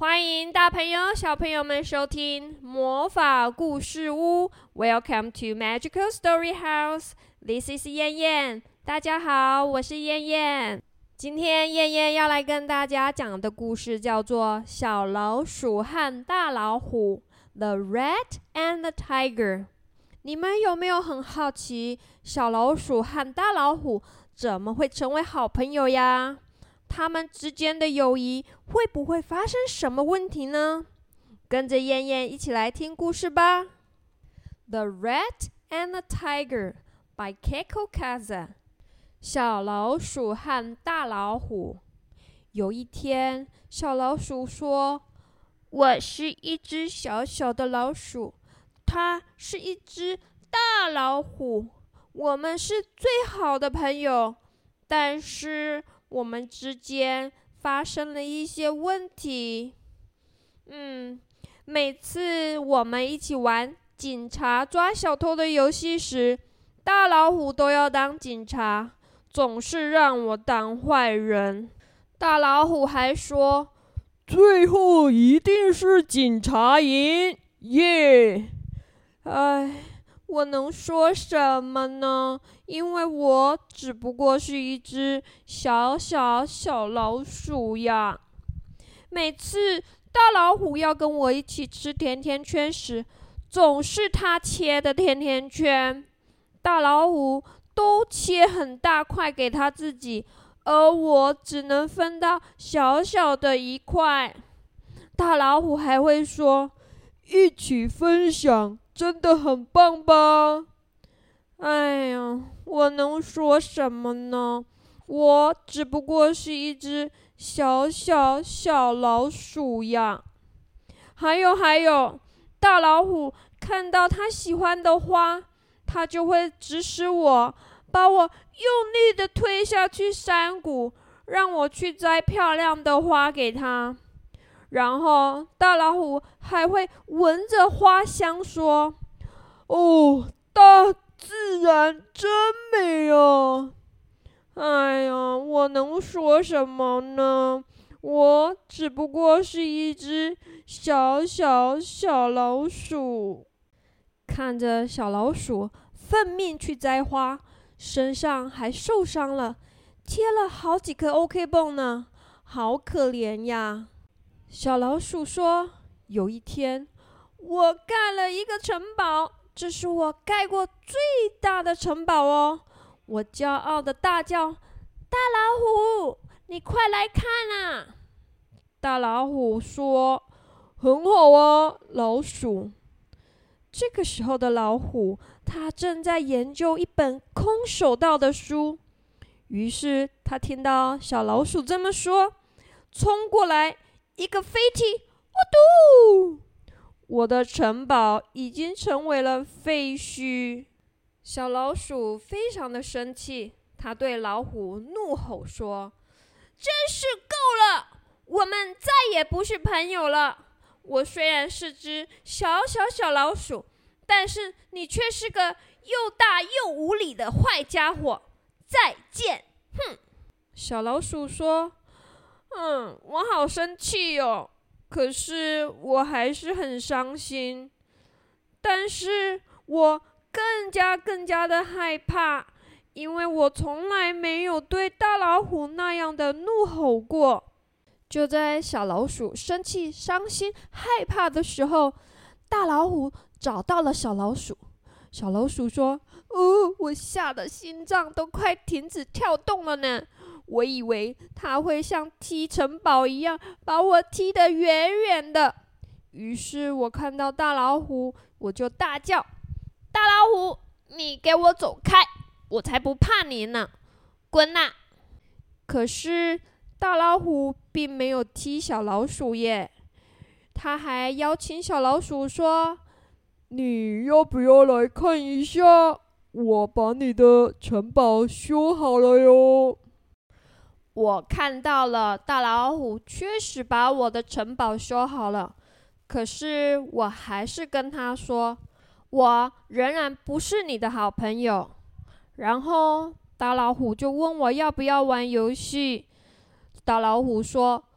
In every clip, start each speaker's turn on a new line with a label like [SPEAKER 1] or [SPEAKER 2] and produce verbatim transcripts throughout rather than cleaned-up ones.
[SPEAKER 1] 欢迎大朋友、小朋友们收听魔法故事屋。Welcome to Magical Story House. This is 燕燕。大家好，我是燕燕。今天燕燕要来跟大家讲的故事叫做《小老鼠和大老虎》The Rat and the Tiger。你们有没有很好奇，小老鼠和大老虎怎么会成为好朋友呀？他们之间的友谊会不会发生什么问题呢？跟着燕燕一起来听故事吧。The Rat and the Tiger by Keiko Kaza。 小老鼠和大老虎。有一天，小老鼠说：我是一只小小的老鼠，它是一只大老虎，我们是最好的朋友，但是我们之间发生了一些问题。嗯，每次我们一起玩警察抓小偷的游戏时，大老虎都要当警察，总是让我当坏人。大老虎还说，最后一定是警察赢，耶！唉，我能说什么呢？因为我只不过是一只小小小老鼠呀。每次大老虎要跟我一起吃甜甜圈时，总是他切的甜甜圈。大老虎都切很大块给他自己，而我只能分到小小的一块。大老虎还会说，一起分享真的很棒吧？哎呀，我能说什么呢？我只不过是一只小小小老鼠呀。还有还有，大老虎看到他喜欢的花，他就会指使我，把我用力地推下去山谷，让我去摘漂亮的花给他。然后大老虎还会闻着花香说，哦，大自然真美啊！哎呀，我能说什么呢？我只不过是一只小小小老鼠。看着小老鼠奋命去摘花，身上还受伤了，贴了好几颗 OK 绷呢，好可怜呀。小老鼠说，有一天我盖了一个城堡，这是我盖过最大的城堡哦。我骄傲地大叫，大老虎，你快来看啊！大老虎说，很好啊，老鼠。这个时候的老虎，他正在研究一本空手道的书。于是他听到小老鼠这么说，冲过来一个飞踢，呜嘟！我的城堡已经成为了废墟。小老鼠非常的生气，他对老虎怒吼说，真是够了，我们再也不是朋友了。我虽然是只小小小老鼠，但是你却是个又大又无理的坏家伙，再见！哼！小老鼠说，嗯，我好生气哦，可是我还是很伤心，但是我更加更加的害怕，因为我从来没有对大老虎那样的怒吼过。就在小老鼠生气、伤心、害怕的时候，大老虎找到了小老鼠。小老鼠说，哦，我吓得心脏都快停止跳动了呢。我以为它会像踢城堡一样把我踢得远远的。于是我看到大老虎，我就大叫，大老虎，你给我走开，我才不怕你呢，滚啊！可是大老虎并没有踢小老鼠耶，他还邀请小老鼠说，你要不要来看一下，我把你的城堡修好了哟。我看到了，大老虎确实把我的城堡修好了，可是我还是跟他说，我仍然不是你的好朋友。然后大老虎就问我要不要玩游戏。大老虎说，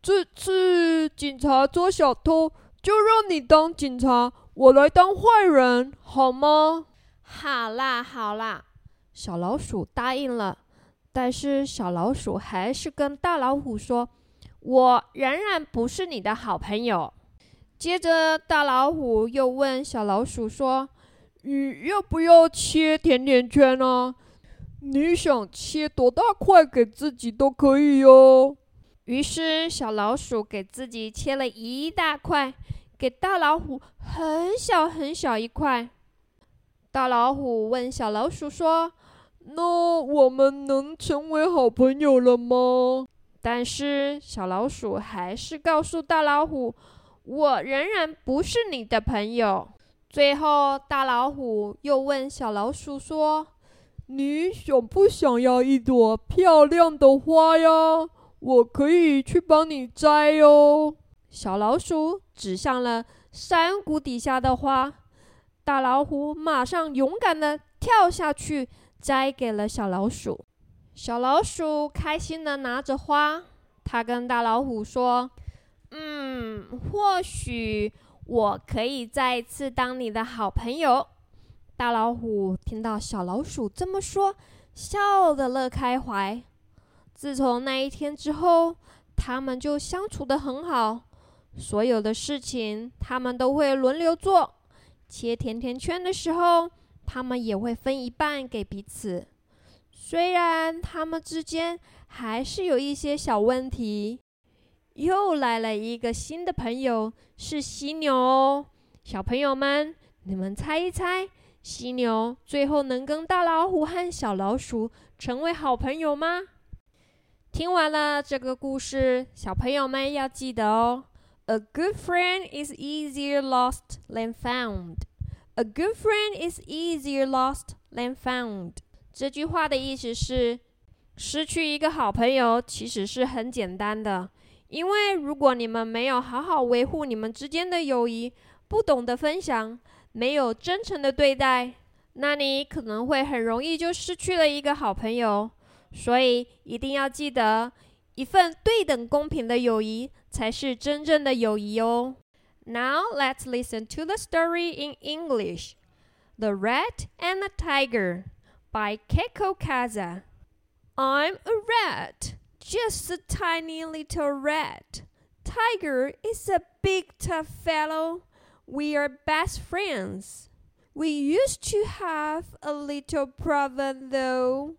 [SPEAKER 2] 这次警察抓小偷，就让你当警察，我来当坏人，好吗？
[SPEAKER 1] 好啦好啦，小老鼠答应了。但是小老鼠还是跟大老虎说，我仍然不是你的好朋友。接着大老虎又问小老鼠说，
[SPEAKER 2] 你要不要切甜甜圈啊？你想切多大块给自己都可以哟。
[SPEAKER 1] 于是小老鼠给自己切了一大块，给大老虎很小很小一块。大老虎问小老鼠说，
[SPEAKER 2] 那我们能成为好朋友了吗？
[SPEAKER 1] 但是小老鼠还是告诉大老虎，我仍然不是你的朋友。最后大老虎又问小老鼠说，
[SPEAKER 2] 你想不想要一朵漂亮的花呀？我可以去帮你摘哟。
[SPEAKER 1] 小老鼠指向了山谷底下的花，大老虎马上勇敢地跳下去，摘给了小老鼠。小老鼠开心地拿着花，它跟大老虎说，嗯，或许我可以再一次当你的好朋友。大老虎听到小老鼠这么说，笑得乐开怀。自从那一天之后，他们就相处得很好，所有的事情他们都会轮流做。切甜甜圈的时候，他们也会分一半给彼此。虽然他们之间还是有一些小问题。又来了一个新的朋友，是犀牛哦。小朋友们，你们猜一猜，犀牛最后能跟大老虎和小老鼠成为好朋友吗？听完了这个故事，小朋友们要记得哦。A good friend is easier lost than found. A good friend is easier lost than found. 这句话的意思是，失去一个好朋友其实是很简单的，因为如果你们没有好好维护你们之间的友谊，不懂得分享，没有真诚的对待，那你可能会很容易就失去了一个好朋友。所以一定要记得，一份对等公平的友谊才是真正的友谊哦。Now let's listen to the story in English. The Rat and the Tiger by Keiko Kaza. I'm a rat, just a tiny little rat. Tiger is a big tough fellow. We are best friends. We used to have a little problem though.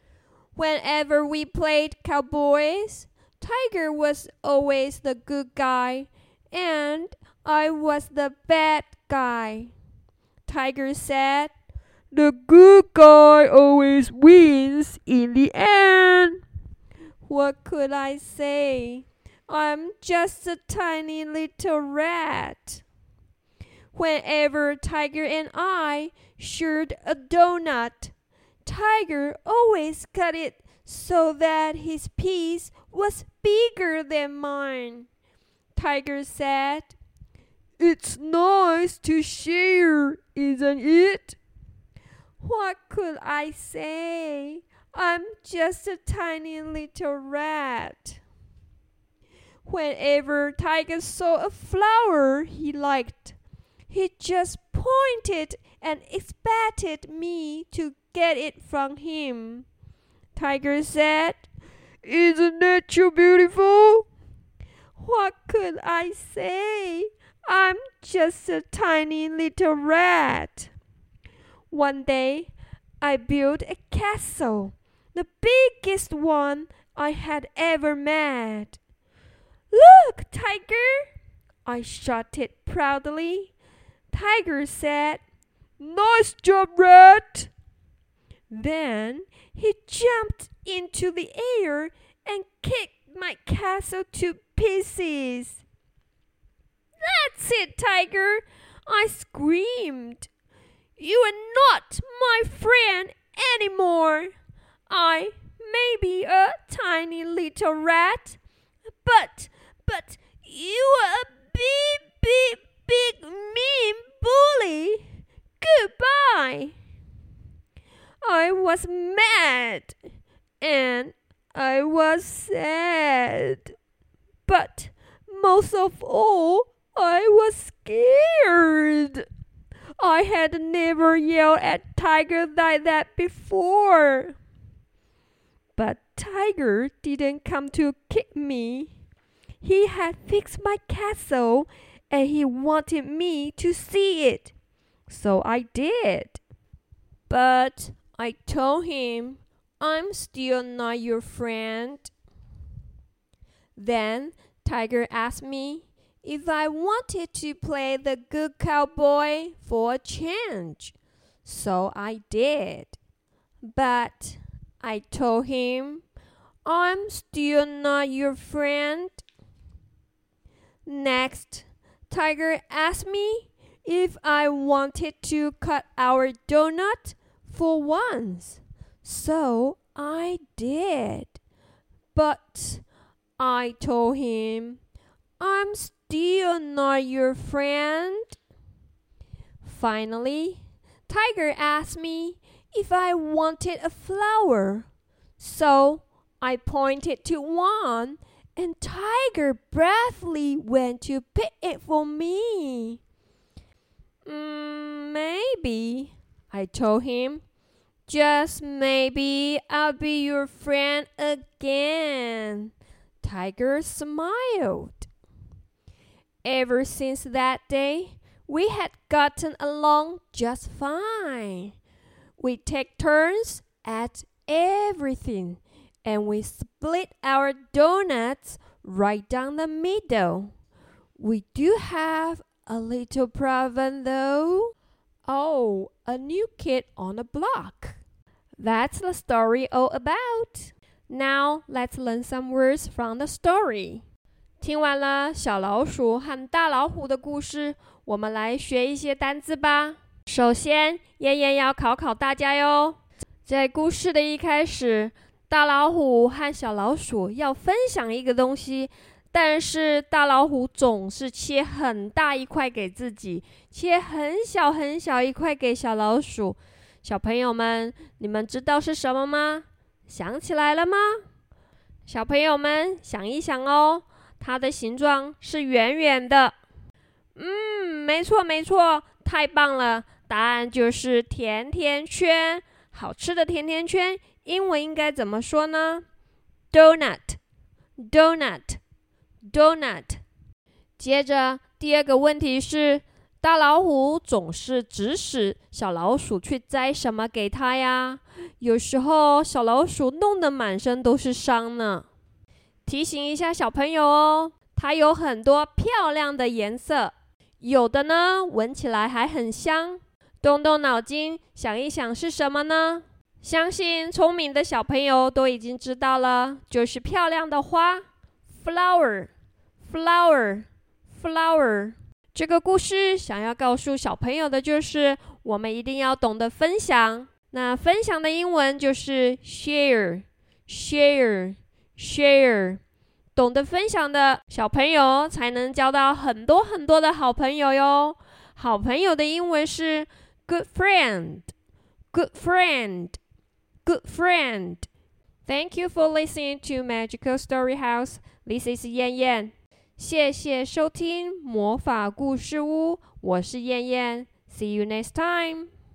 [SPEAKER 1] Whenever we played cowboys, Tiger was always the good guy, and I was the bad guy. Tiger said,
[SPEAKER 2] The good guy always wins in the end.
[SPEAKER 1] What could I say? I'm just a tiny little rat. Whenever Tiger and I shared a donut, Tiger always cut it so that his piece was bigger than mine. Tiger said,
[SPEAKER 2] It's nice to share, isn't it?
[SPEAKER 1] What could I say? I'm just a tiny little rat. Whenever Tiger saw a flower he liked, he just pointed and expected me to get it from him. Tiger said,
[SPEAKER 2] Isn't nature beautiful?
[SPEAKER 1] What could I say? I'm just a tiny little rat. One day, I built a castle, the biggest one I had ever made. Look, Tiger! I shouted proudly. Tiger said,
[SPEAKER 2] Nice job, Rat!
[SPEAKER 1] Then he jumped into the air and kicked my castle to pieces. That's it, Tiger! I screamed. You are not my friend anymore. I may be a tiny little rat, but, but you are a big, big, big, mean bully. Goodbye. I was mad and I was sad.
[SPEAKER 2] But most of all, I was scared. I had never yelled at Tiger like that before. But Tiger didn't come to kick me. He had fixed my castle and he wanted me to see it. So I did. But I told him, I'm still not your friend. Then Tiger asked me if I wanted to play the good cowboy for a change. So I did. But I told him, I'm still not your friend. Next, Tiger asked me if I wanted to cut our donut for once. So I did. But I told him, I'm still not your friend. Finally, Tiger asked me if I wanted a flower. So I pointed to one, and Tiger bravely went to pick it for me. Mm, maybe, I told him. Just maybe I'll be your friend again. Tiger smiled. Ever since that day, we had gotten along just fine. We take turns at everything, and we split our donuts right down the middle. We do have a little problem though. Oh, a new kid on the block. That's the story all about. Now let's learn some words from the story. 听完了小老鼠和大老虎的故事，我们来学一些单字吧。首先，燕燕要考考大家哟。在故事的一开始，大老虎和小老鼠要分享一个东西，但是大老虎总是切很大一块给自己，切很小很小一块给小老鼠。小朋友们，你们知道是什么吗？想起来了吗？小朋友们想一想哦，它的形状是圆圆的。嗯，没错没错，太棒了！答案就是甜甜圈，好吃的甜甜圈，英文应该怎么说呢？ Donut Donut Donut。 接着第二个问题是，大老虎总是指使小老鼠去摘什么给它呀？有时候小老鼠弄得满身都是伤呢。提醒一下小朋友哦，它有很多漂亮的颜色，有的呢闻起来还很香。动动脑筋想一想是什么呢？相信聪明的小朋友都已经知道了，就是漂亮的花 flower flower flower。 这个故事想要告诉小朋友的就是我们一定要懂得分享。那分享的英文就是 share share share。 懂得分享的小朋友才能交到很多很多的好朋友哟。好朋友的英文是 good friend good friend good friend。 Thank you for listening to Magical Story House. This is 燕燕。谢谢收听魔法故事屋，我是燕燕。See you next time.